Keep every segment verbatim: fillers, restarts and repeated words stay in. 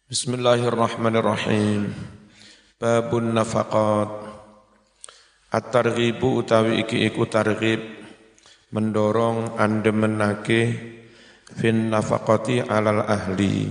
Bismillahirrahmanirrahim. Babun nafaqat. At-targhibu utawi iki iku targhib mendorong andemenake fin nafaqati alal ahli.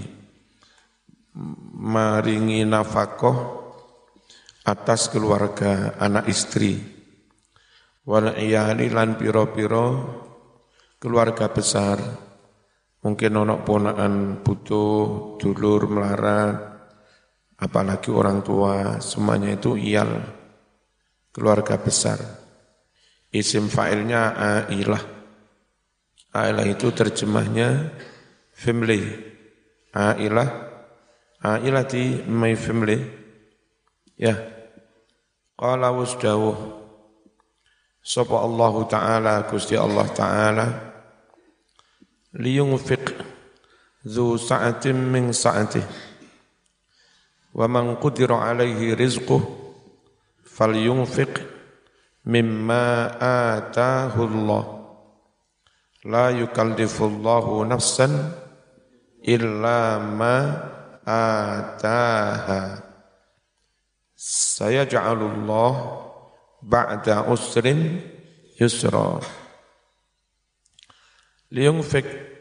Maringi nafaqah atas keluarga anak istri. Wal iyali lan pira-pira keluarga besar. Mungkin ono ponakan butuh, dulur melarat, apalagi orang tua, semuanya itu iyal, keluarga besar. Isim fa'ilnya ailah. Ailah itu terjemahnya family. Ailah, ailah di my family. Ya. Qala wasdawuh. Sapa Allah Ta'ala, Gusti Allah Ta'ala, liyunfiq dzu sa'atin min sa'atih wa man qudira alaihi rizquh falyunfiq mimma ataahu Allah la yukallifullahu nafsan illa ma ataaha sayaj'alullah ba'da usrin yusra. Liyunfiq,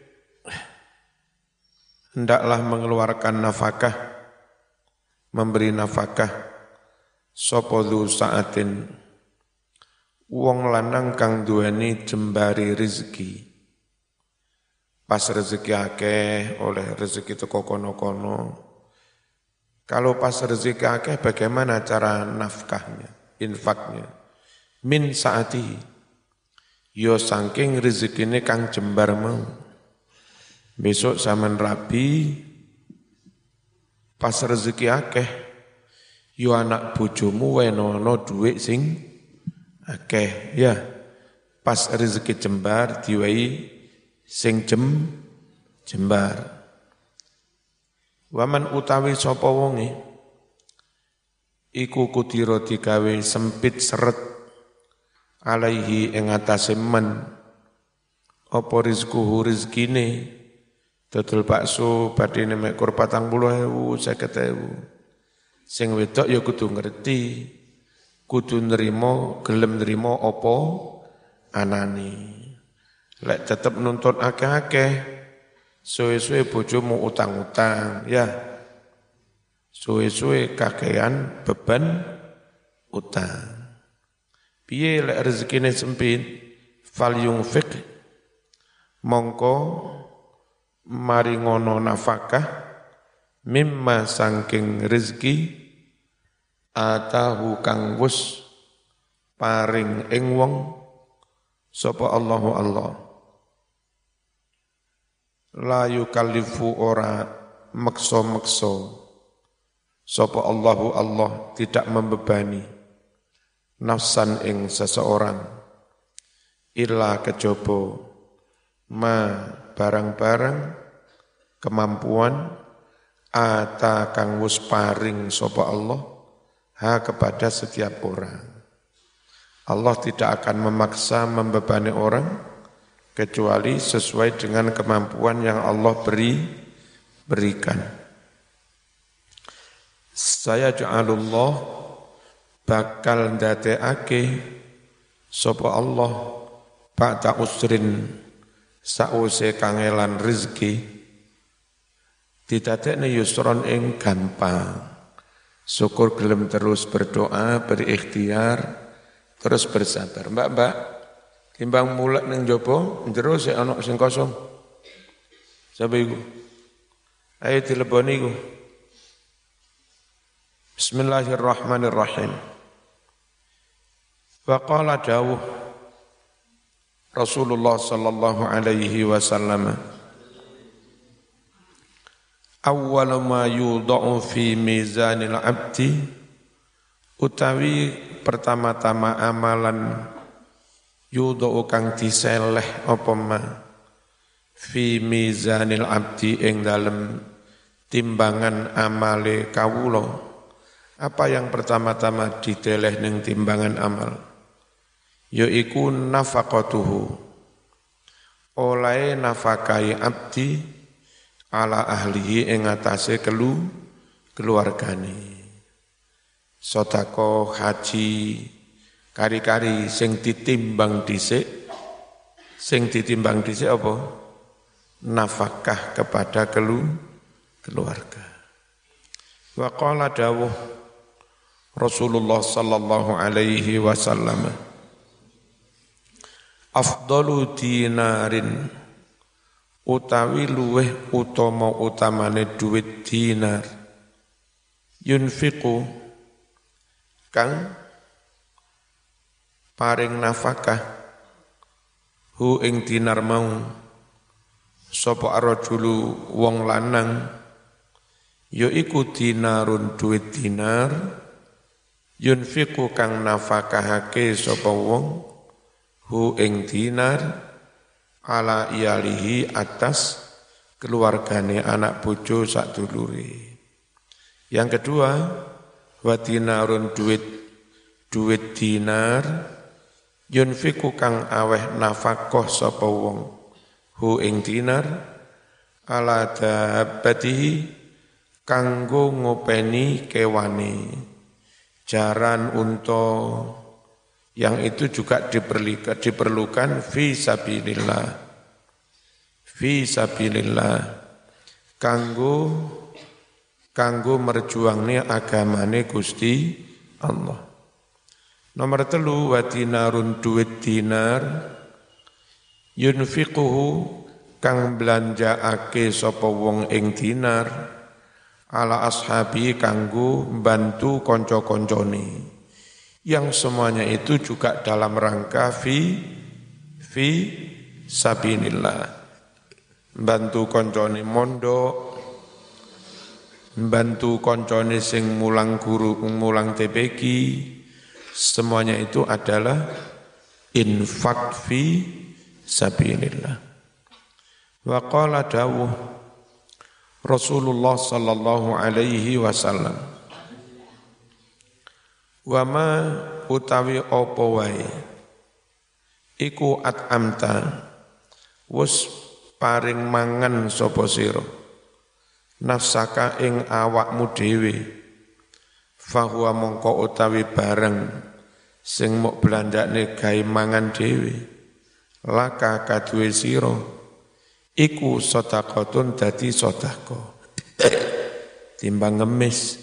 hendaklah mengeluarkan nafkah, memberi nafkah, sapa dzu sa'atin, wong lanang kang duweni jembari rezeki. Pas rezeki akeh, oleh rezeki teko kono-kono. Kalau pas rezeki akeh, bagaimana cara nafkahnya, infaknya? Min sa'atihi. Yo saking rezekine kang jembar mau. Besok zaman rabi, pas rezeki akeh, yo anak bojomu wenono duit sing akeh, ya. Pas rezeki jembar diwehi sing jem jembar. Waman utawi sapa wonge iku kudira digawe sempit seret alaihi ing atase men apa rizquhu rizkine dodol bakso badine mek kur patang puluh ewu seket ewu sing wedok ya kudu ngerti kudu nrimo gelem nrimo apa anane lek tetep nuntut akeh-akeh suwe-suwe bojomu utang-utang ya suwe-suwe kakean beban utang. Piye lek rezekine sempit fal yunfiq mongko maringono nafkah mimma sangking rezeki atahu kang wus paring ing wong sapa Allahu Allah la yukallifu ora meksa-meksa sapa Allahu Allah tidak membebani nafsan ing seseorang illa kejaba ma barang-barang kemampuan ata kang wis paring sapa Allah ha kepada setiap orang. Allah tidak akan memaksa membebani orang kecuali sesuai dengan kemampuan yang Allah beri berikan. Saya ja'alullah bakal ndadekake sapa Allah ba'da usrin sause kangelan rezeki didadekne yusron ing gampang. Syukur gelem terus berdoa, berikhtiar, terus bersabar. Mbak-mbak, timbang mulak ning jaba, njero sik ana sing kosong. Sapa iku? Ayo dileboni iku. Bismillahirrahmanirrahim. Wa qala dawuh Rasulullah sallallahu alaihi wasallam awwalu ma yudha'u fi mizanil abdi utawi pertama-tama amalan yudha'u kang diseleh apa ma fi mizanil abdi ing dalem timbangan amale kawula. Apa yang pertama-tama dideleh ning timbangan amal? Yaiku nafaqatuhu. Oleh nafakai abdi ala ahlihi ing atase kelu keluargane. Sedekah haji kari-kari sing ditimbang dhisik, sing ditimbang dhisik apa? Nafkah kepada kelu, keluarga. Wa qala dawuh Rasulullah sallallahu alaihi wasallam, afdalu dinarin utawi luweh utama utamane duit dinar yunfiqu kang paring nafkah hu ing dinar mau sapa arjulu wong lanang ya iku dinarun duit dinar yunfiqu kang nafakahake sapa wong hu ing dinar ala iyalihi atas keluargane anak bojo sadulure. Yang kedua, wa dinarun duit duit dinar yunfiqu kang aweh nafkah sapa wong hu ing dinar ala dabbatihi kanggo ngopeni kewane jaran unta yang itu juga diperlukan, diperlukan fi sabilillah fi sabilillah kanggo kanggo merjuangne agamane Gusti Allah. Nomor telu wa dinarun duit dinar yunfiquhu kang belanjaake sapa wong ing dinar ala ashabi kanggo bantu kanca-kancane yang semuanya itu juga dalam rangka fi fi sabilillah, bantu kancane mondok, bantu kancane sing mulang guru mulang T P Q, semuanya itu adalah infak fi sabilillah. Wa qala dawuh Rasulullah sallallahu alaihi wasallam, wa ma utawi apa wae iku at'amta wus paring mangan sapa sira nafsaka ing awakmu dhewe fahuwa mongko utawi bareng sing mok blandakne gawe mangan dhewe laka kaduwe sira iku sedekahun dadi sedekah timbang ngemis.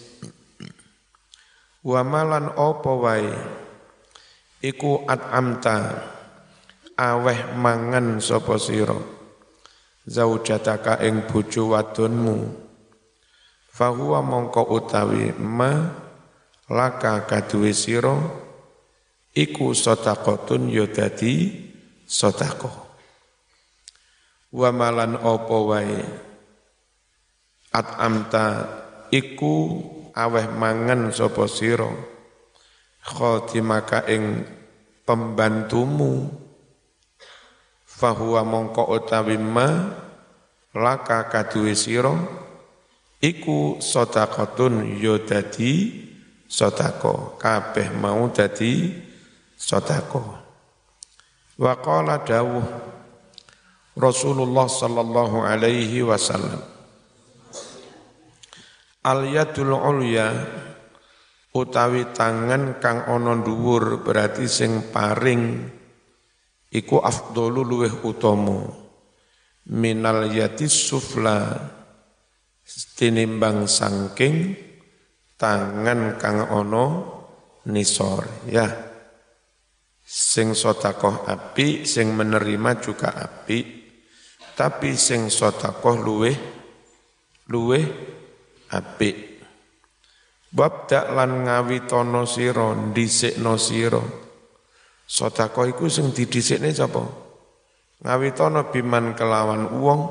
Wa malan apa wae iku at'amta aweh mangan sapa sira zaujataka ing bojo wadonmu fahuwa mongko utawi ma laka kaduwe sira iku sedekahun ya dadi sedekah. Wa malan apa wae at'amta iku aweh mangan sapa sira khadimaka ing pembantumu fahuwa mongko utawi ma laka kaduwe sira iku sedekahun ya dadi sedekah kabeh mau dadi sedekah. Wa qala dawuh Rasulullah sallallahu alaihi wasallam, al-yadul ulya utawi tangan kang ana dhuwur berarti sing paring iku afdalu luweh utama minal yadis sufla tinimbang sangking tangan kang ana nisor ya. Sing sedekah apik, sing menerima juga apik, tapi sing sedekah luweh luweh apik. Wabda lan ngawitono sira dhisikno sira sedekah iku sing didhisikne sapa? Ngawitono biman kelawan wong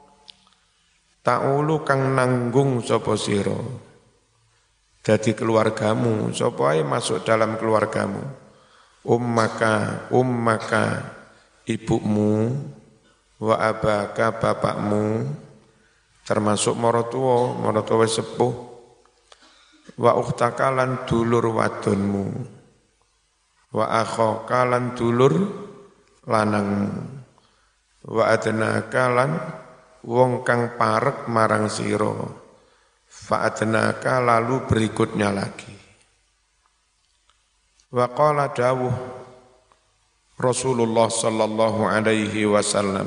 ta'ulu kang nanggung sapa sira dadi keluargamu, sapa ae masuk dalam keluargamu, ummaka ummaka ibumu wa abaka bapakmu termasuk maratuwa maratuwa sepuh wa ukhtaka lan dulur wadonmu wa akhaka lan dulur lanangmu wa adnaka lan wong kang parek marang sira fa'adnaka lalu berikutnya lagi. Wa qala dawuh Rasulullah sallallahu alaihi wasallam.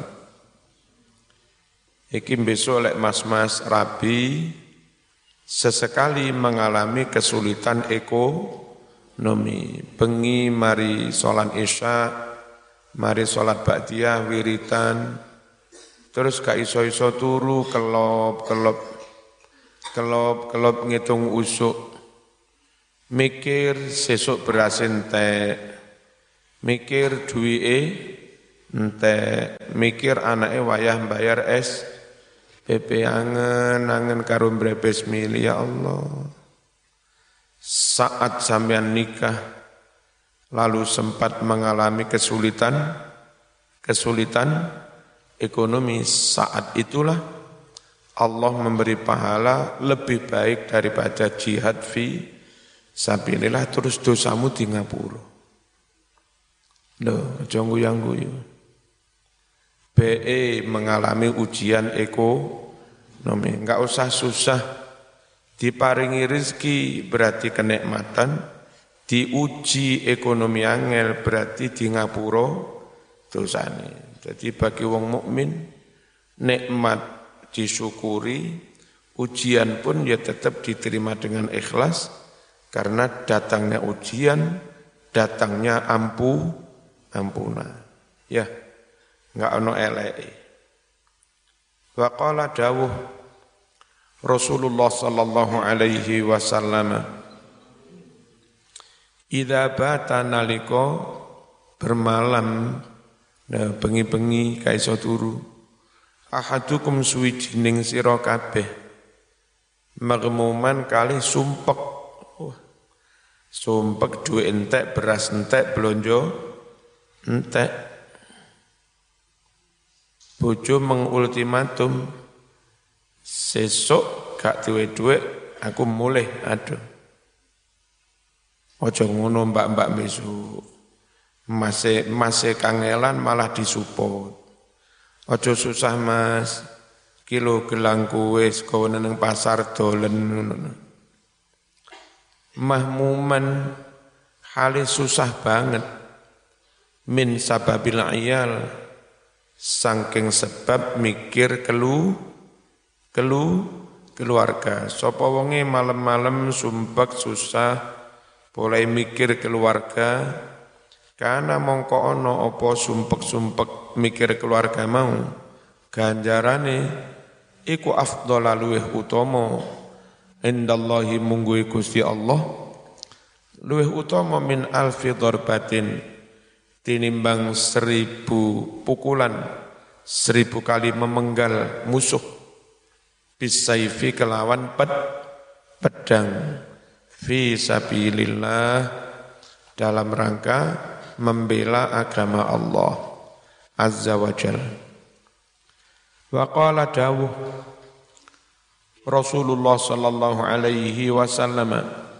Iki besok lek mas-mas rabi sesekali mengalami kesulitan ekonomi. Bengi mari sholat isya, mari sholat ba'diyah, wiritan, terus gak iso-iso turu, kelop, kelop, kelop, kelop ngitung usuk, mikir sesuk beras entek, mikir duwike entek, mikir anake wayah bayar es, P P angen, angen karo mbrebes mili, ya Allah. Saat sampean nikah, lalu sempat mengalami kesulitan, kesulitan ekonomi, saat itulah Allah memberi pahala lebih baik daripada jihad fi sabilillah, terus dosamu di ngapura. Loh, jangan guyang-guyu. B E mengalami ujian ekonomi, enggak usah susah. Diparingi rezeki berarti kenikmatan, diuji ekonomi angel berarti di ngapura dosane. Jadi bagi wong mukmin nikmat disyukuri, ujian pun ya tetap diterima dengan ikhlas karena datangnya ujian, datangnya ampu ampunan. Ya, enggak ono eleke. Wa qala dawuh Rasulullah sallallahu alaihi wasallam, idza bata nalika bermalam, nah bengi-bengi kaiso turu, ahadukum suwijining sira kabeh magmuman kali sumpek. Oh, sumpek duwe entek, beras entek, blonjo entek. Bojo mengultimatum, sesuk gak duwe-duwe aku mulih, aduh. Ojo ngono mbak-mbak besok. Masih masih kangelan malah disupport. Ojo susah mas, kilo gelang kue saka nang pasar dolen ngono. Mahmuman hale susah banget min sababil iyal, saking sebab mikir kelu kelu keluarga. Sapa wonge malam-malam sumpek susah boleh mikir keluarga, karena mongko ana apa sumpek-sumpek mikir keluarga mau ganjarane iku afdhala luweh utama indallahi mungguhe Gusti Allah, luweh utama min alfi darbatin tinimbang seribu pukulan, seribu kali memenggal musuh bisayfi kelawan ped, pedang fi sabilillah dalam rangka membela agama Allah azza wa jal. Wa qala dawuh Rasulullah sallallahu alaihi wasallam,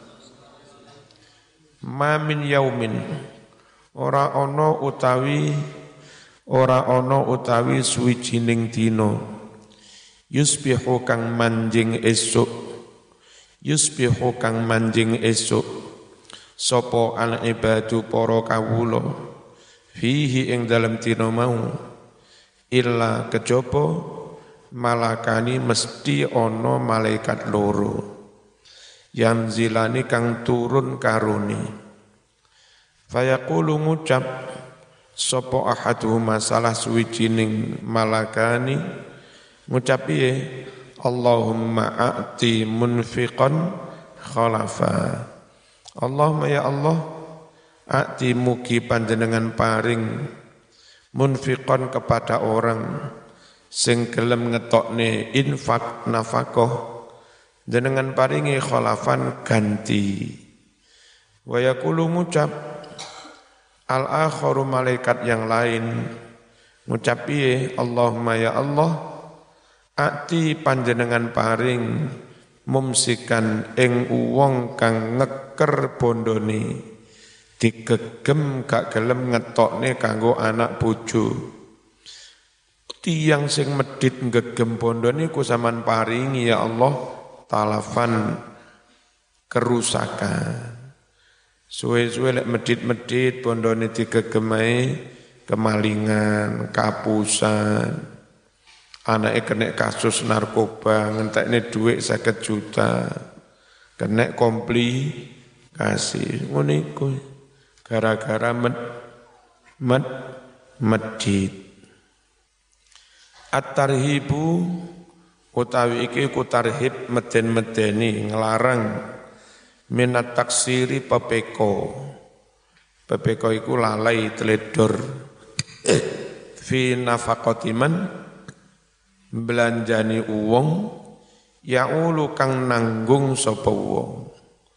ma min yaumin, ora ana utawi ora ana utawi suwijining dina, yusbihu kang manjing esuk, yusbihu kang manjing esuk, sapa al ibadu para kawula, fihi ing dalem dina mau, illa kejaba malakani mesti ana malaikat loro, yang zilani kang turun karuni, fayaqulu ngucap sapa ahaduhuma salah suwijining malakani, ngucap piye, Allahumma a'ti munfiqan khalafa. Allahumma ya Allah, a'ti mugi panjenengan paring munfiqan kepada orang sing gelem ngetokne infak nafkah, jenengan paringi khalafan ganti. Wa yaqulu ngucap al-akharu malaikat yang lain, ngucap piye, Allahumma ya Allah, ati panjenengan paring mumsikan ing wong kang ngeker bondone, digegem gak gelem ngetokne kanggo anak bojo. Tiyang sing medhit ngegem bondone ku sampean paringi ya Allah talafan kerusakan. Suwe-suwe lek medit-medit pondone digegemai kemalingan, kapusan. Anake kena kasus narkoba, ngentekne dhuwit seket juta. Kena komplikasi. Ngono iku. Gara-gara med med medit. At-tarhibu utawi iki ku tarhib meden-medeni nglarang minat taksiri pepeko. Pepeko iku lalai teledor fi nafaqatiman belanjani uwong yaulu kang nanggung sapa wong.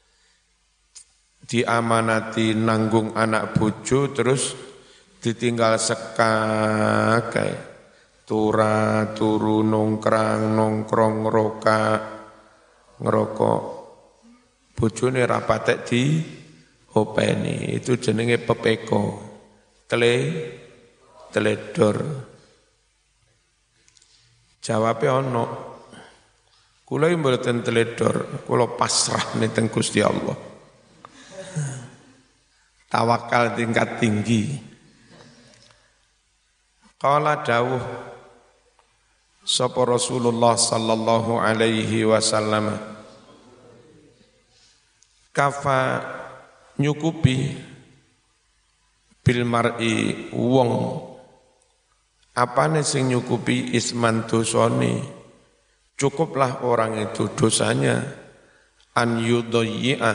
Diamanati nanggung anak bojo terus ditinggal sekakai tura turu nongkrang nongkrong ngeroka ngerokok bojone ra patek di openi, itu jenenge pepeko. Tele teledor. Jawabe ono. Kula mboten teledor, kula pasrah ning Gusti Allah. Tawakal tingkat tinggi. Qala dawuh sapa Rasulullah sallallahu alaihi wasallam, kafa nyukupi bil mar'i wong apane sing nyukupi isman dosane, cukuplah orang itu dosanya an yudayya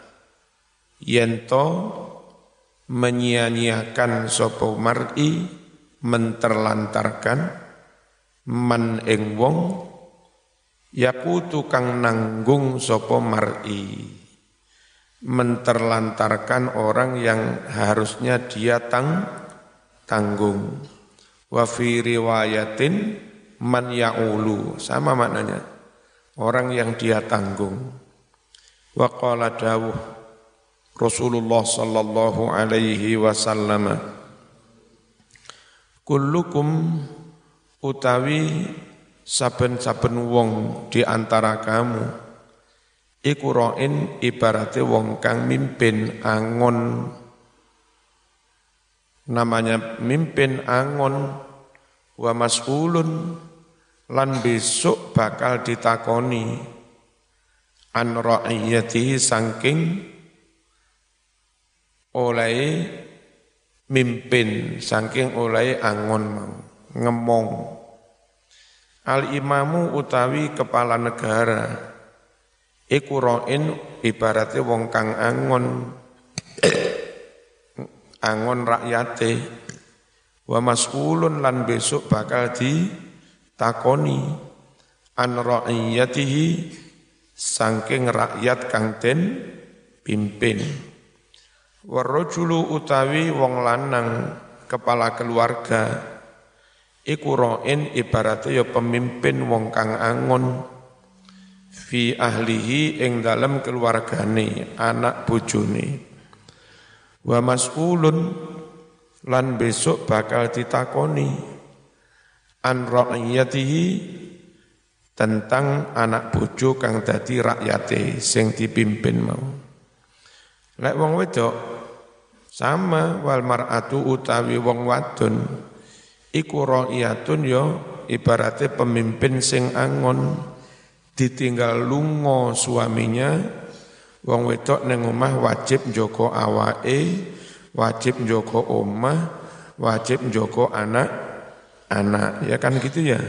yento menyia-nyiakan sapa mar'i menterlantarkan man ing wong yakutu kang nanggung sapa mar'i, menterlantarkan orang yang harusnya dia tang, tanggung. Wa fi riwayatin man ya'ulu, sama maknanya, orang yang dia tanggung. Wa qala dawuh Rasulullah sallallahu alaihi wasallam, kullukum utawi saben-saben wong di antara kamu iku ra'in ibarate wong kang mimpin angon. Namanya mimpin angon. Wa mas'ulun lan besok bakal ditakoni an ra'iyatihi saking oleh mimpin, saking oleh angon mau ngemong. Al imamu utawi kepala negara iku ra'in ibarate wong kang angon angon rakyate. Wa mas'ulun lan besok bakal ditakoni an ra'iyatihi saking rakyat kang den pimpin. Warrajulu utawi wong lanang kepala keluarga iku ra'in ibarate ya pemimpin wong kang angon fi ahlihi ing dalem keluargane anak bojone. Wa mas'ulun lan besok bakal ditakoni an ra'iyatihi tentang anak bojo kang dadi rakyate sing dipimpin mau. Lek wong wedok sama wal mar'atu utawi wong wadon iku ra'iyatun ya ibarate pemimpin sing angon ditinggal lunga suaminya. Wong wedok ning omah wajib njaga awake, wajib njaga omah, wajib njaga anak-anak. Ya kan gitu ya.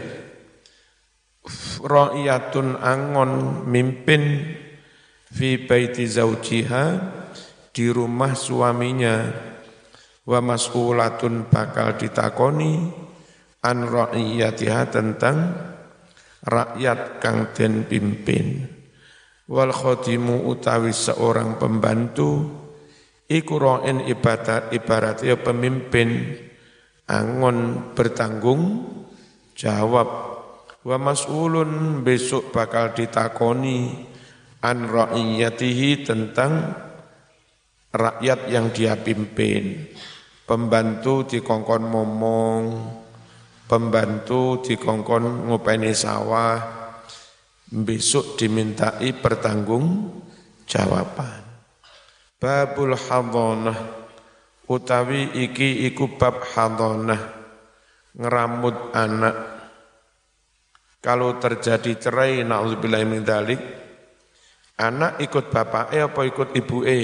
Ra'iyatun angon mimpin fi baiti zaujiha di rumah suaminya. Wa mas'ulatun bakal ditakoni an ra'iyatiha tentang rakyat kang den pimpin. Wal khadimu utawi seorang pembantu iku ra'in ibadat ibarat ya pemimpin angon bertanggung jawab. Wa mas'ulun besok bakal ditakoni an ra'iyatihi tentang rakyat yang dia pimpin. Pembantu dikongkon momong, pembantu dikongkon ngopeni sawah, besok dimintai pertanggung jawaban. Babul hadhanah utawi iki iku bab hadhanah ngeramut anak. Kalau terjadi cerai na'udzubillahi min dzalik, anak ikut bapake apa ikut ibuke?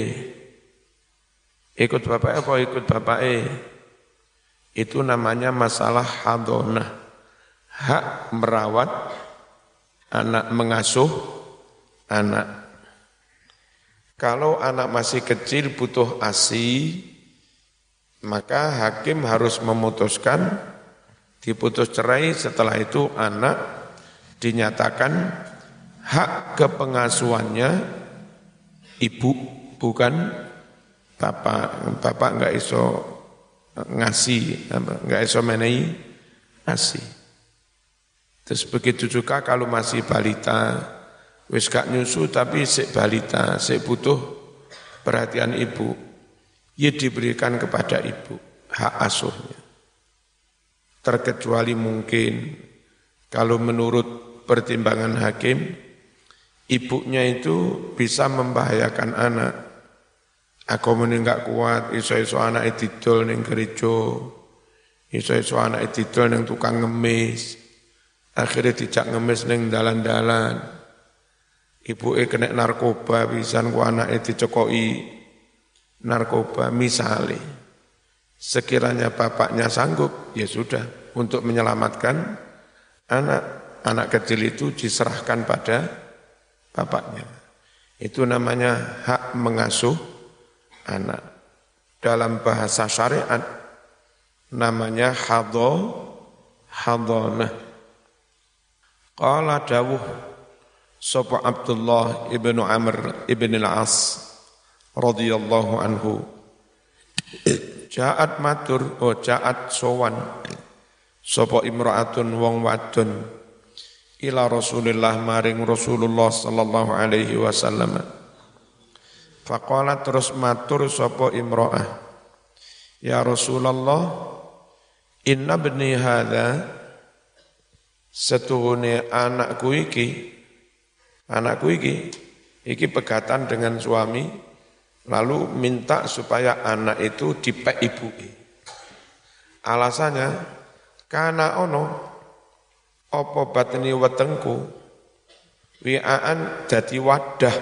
Ikut bapake apa ikut bapake? Itu namanya masalah hadhanah. Hak merawat anak, mengasuh anak. Kalau anak masih kecil butuh A S I, maka hakim harus memutuskan, diputus cerai. Setelah itu anak dinyatakan hak kepengasuhannya ibu, bukan bapak. Bapak enggak iso ngasih, enggak iso menehi ngasih. Terus begitu juga kalau masih balita, wis gak nyusu tapi sik balita, sik butuh perhatian ibu, ya diberikan kepada ibu hak asuhnya. Terkecuali mungkin kalau menurut pertimbangan hakim, ibunya itu bisa membahayakan anak. Aku meni gak kuat, iso-iso anak didol ning gereja, iso-iso anak didol ning tukang ngemis, akhirnya dijak ngemis ning dalan-dalan. Ibuke kena narkoba, pisan ku anake dicekoki narkoba misalnya. Sekiranya bapaknya sanggup, ya sudah, untuk menyelamatkan anak, anak kecil itu diserahkan pada bapaknya. Itu namanya hak mengasuh anak. Dalam bahasa syariat namanya hadho, hadhanah. Qala dawuh sapa Abdullah ibnu Amr ibn al-As radhiyallahu anhu, Ja'at matur, oh ja'at sowan sapa imra'atun wong wadon ila Rasulillah maring Rasulullah sallallahu alaihi wasallam. Faqala terus matur sapa imra'ah, ya Rasulullah, inna bni hadza, setuhune anakku iki, anakku iki, iki pegatan dengan suami, lalu minta supaya anak itu dipek ibuke. Alasannya, kana ono apa batni wetengku wi'aan dadi wadah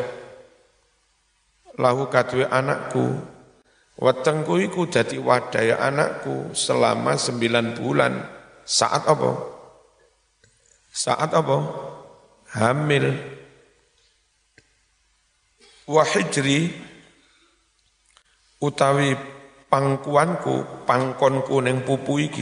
lahu kadwe anakku. Wetengku iku dadi wadah ya anakku selama sembilan bulan. Saat apa? Saat apa? Hamil. Wa hijri utawi pangkuanku, pangkonku ning pupu iki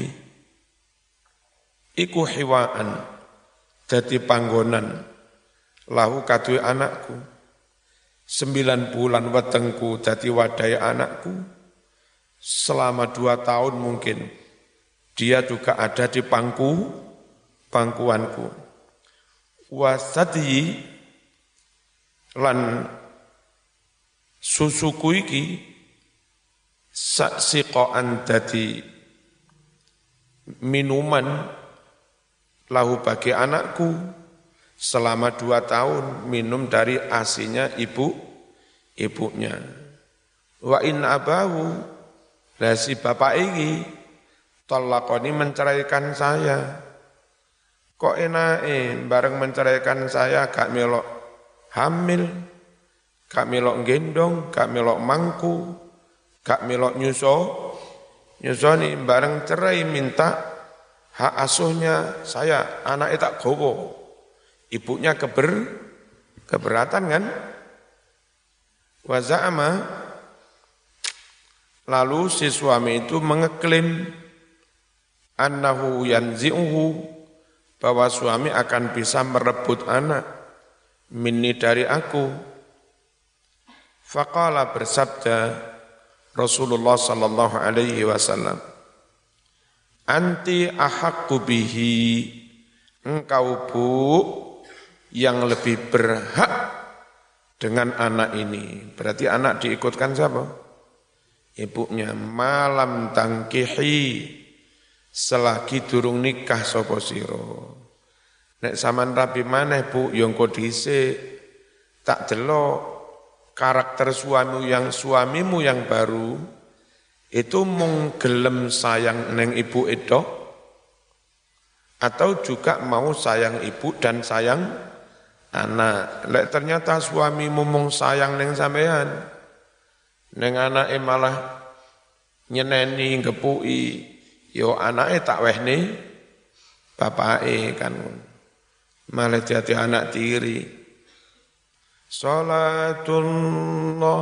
iku hiwaan dadi panggonan lahu kadue anakku. Sembilan bulan wetengku dadi wadai anakku, selama dua tahun mungkin dia juga ada di pangku pangkuanku. Wasati lan susuku iki saksiqoan dadi minuman lahu bagi anakku, selama dua tahun minum dari asinya ibu ibunya. Wa in abahu, lah si bapak ini talaqani menceraikan saya. Kok enake bareng menceraikan saya gak melok hamil, gak melok gendong, gak melok mangku, gak melok nyuso, nyusoni bareng cerai minta hak asuhnya saya, anaknya tak gowo. Ibunya keber, keberatan kan? Wa za'ama, lalu si suami itu mengeklaim annahu yanzi'uhu, bahwa suami akan bisa merebut anak minni dari aku. Faqala, bersabda Rasulullah sallallahu alaihi wasallam, anti ahaqqu bihi, engkau bu yang lebih berhak dengan anak ini. Berarti anak diikutkan siapa? Ibunya. Malam tangkihi, selagi durung nikah sapa sira. Nek sampean rabi maneh Bu, yo engko dhisik tak delok karakter suamimu yang suamimu yang baru itu mung gelem sayang neng ibu itu atau juga mau sayang ibu dan sayang anak. Lek ternyata suamimu mung sayang neng sampean, neng anake malah nyeneni ngepui, yo anake tak wehne bapake kan. Malah jadi anak tiri. Salatullah,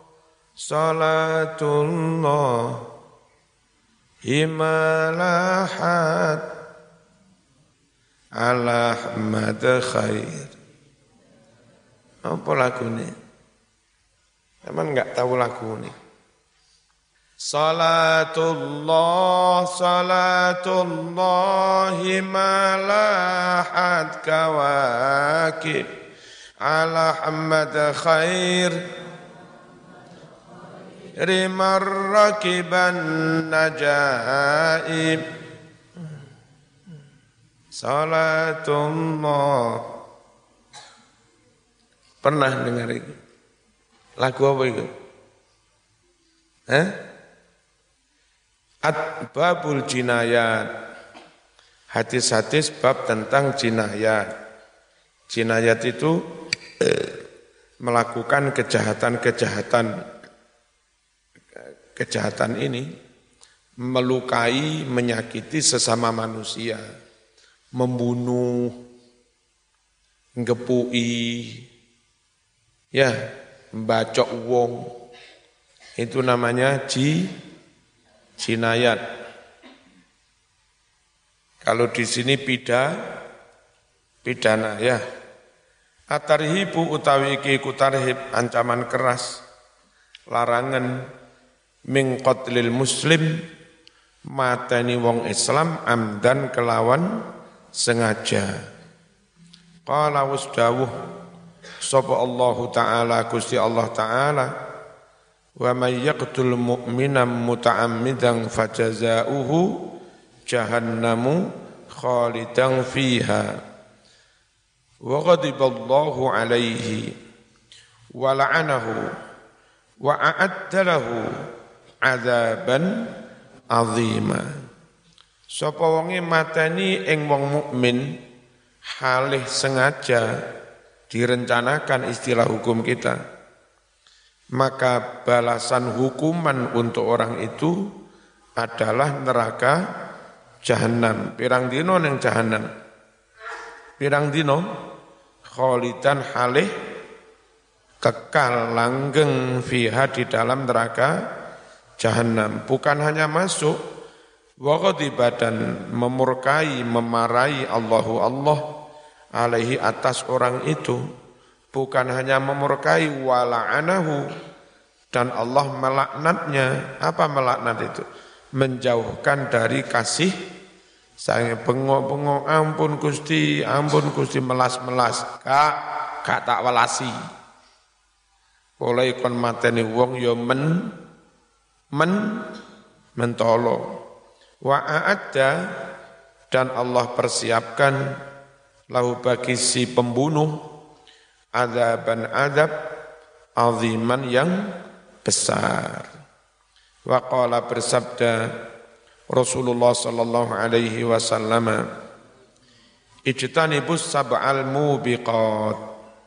salatullah, himalahat, ala Ahmad khair. Apa lagu ini? Emang enggak tahu lagu ini? Salatullah, salatullah, himalahat kawakib, ala Ahmad khair, rimar rakiban najaib. Salatullah. Pernah dengar itu? Lagu apa itu? Hah? At-babul jinayat. Hadis-hadis bab tentang jinayat. Jinayat itu eh, melakukan kejahatan-kejahatan. Kejahatan ini melukai, menyakiti sesama manusia, membunuh, ngepui, ya, membacok wong. Itu namanya ji jinayat. Kalau di sini pida, pidana ya. Atarhibu utawi iki kutarhib, ancaman keras, larangan min qatlil muslim, mateni wong Islam amdan kelawan sengaja. Qala wasdawuh sapa Allah Ta'ala Gusti Allah Ta'ala, wa may yaqtul mu'mina muta'ammidan fajazauhu jahannamu khalidan fiha wa ghadiballahu alaihi wa la'anahu wa a'adda lahu adzaban azima. Sapa wonge mateni ing wong mukmin halih sengaja, direncanakan istilah hukum kita, maka balasan hukuman untuk orang itu adalah neraka jahanam. Pirang dino neng jahanam? Pirang dino? Khalidan halih kekal langgeng fiha di dalam neraka jahanam. Bukan hanya masuk, wa ghadiba dan memurkai, memarahi Allahu Allah alaihi atas orang itu. Bukan hanya memurkai, wala'anahu, dan Allah melaknatnya. Apa melaknat itu? Menjauhkan dari kasih sayang. Bengok-bengok, ampun Gusti, ampun Gusti, melas-melas. Kak, gak tak welasi. Oleh kon mateni wong ya men, men, mentolo. Wa a'adda, dan Allah persiapkan lahu bagi si pembunuh adzaban adab aziman yang besar. Wa qala bersabda Rasulullah sallallahu alaihi wasallam, ijtanibus sab'al mubiqat,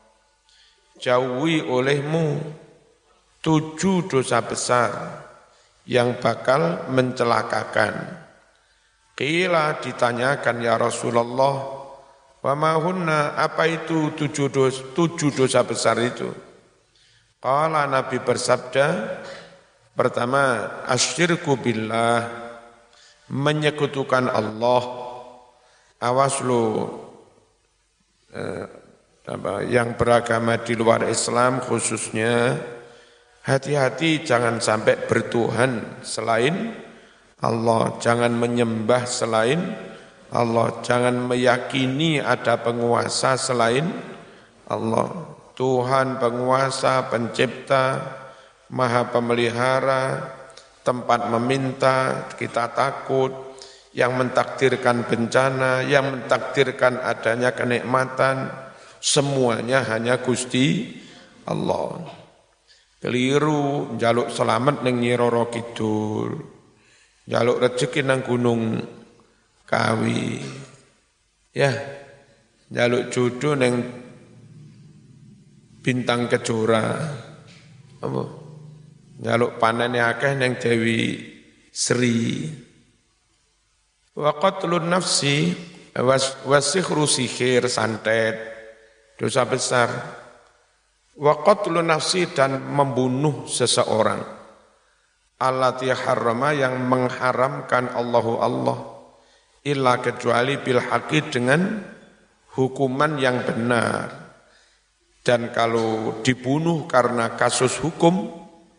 jauhi olehmu tujuh dosa besar yang bakal mencelakakan. Qila, ditanyakan ya Rasulullah, wa ma hunna, apa itu tujuh dosa, tujuh dosa besar itu? Qala, Nabi bersabda, pertama, asyirku billah, menyekutukan Allah. Awas lu eh, apa, yang beragama di luar Islam khususnya, hati-hati jangan sampai bertuhan selain Allah, jangan menyembah selain Allah, jangan meyakini ada penguasa selain Allah. Tuhan penguasa, pencipta, maha pemelihara, tempat meminta, kita takut, yang mentakdirkan bencana, yang mentakdirkan adanya kenikmatan, semuanya hanya Gusti Allah. Keliru njaluk selamat ning Nyi Roro Kidul, njaluk rezeki nang Gunung Kawi, ya, njaluk jodoh ning Bintang Kejora, apa? Njaluk panene akeh ning Dewi Sri. Wa qatlun nafsi wasihru sihir santet, dosa besar. Wa qatlun nafsi dan membunuh seseorang. Allati harrama yang mengharamkan Allahu Allah illa kecuali bil haqi dengan hukuman yang benar. Dan kalau dibunuh karena kasus hukum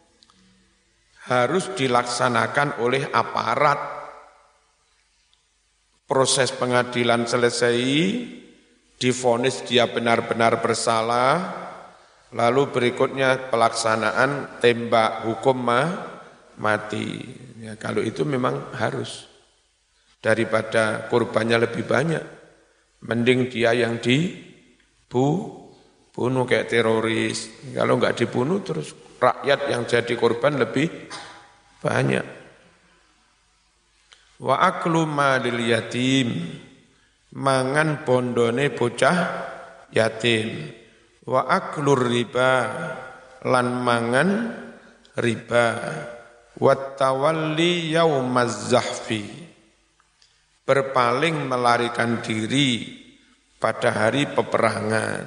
harus dilaksanakan oleh aparat. Proses pengadilan selesai, divonis dia benar-benar bersalah, lalu berikutnya pelaksanaan tembak hukum mati. Ya, kalau itu memang harus. Daripada korbannya lebih banyak, mending dia yang dibunuh kayak teroris. Kalau enggak dibunuh terus rakyat yang jadi korban lebih banyak. Wa aklu malil yatim, mangan bondone bocah yatim. Wa aklur riba, lan mangan riba. Wa tawalli yaumaz zahfi, berpaling melarikan diri pada hari peperangan.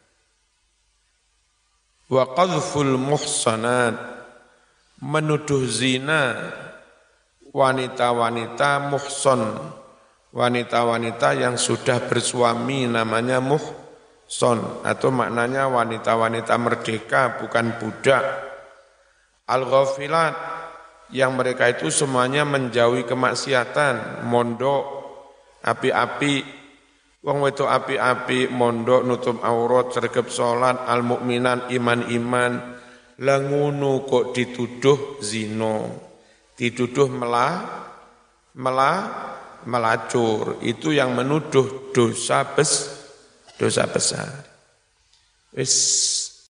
Wa qadhful muhsanat, menuduh zina wanita-wanita muhson, wanita-wanita yang sudah bersuami namanya muhson, atau maknanya wanita-wanita merdeka bukan budak. Al-ghafilat, yang mereka itu semuanya menjauhi kemaksiatan, mondok, api-api, wong wedok api-api, mondok, nutup aurat, sregep salat, al-mukminan, iman-iman, langunu kok dituduh zina. Dituduh melah, melah, melacur, itu yang menuduh dosa bes, dosa besar. Wis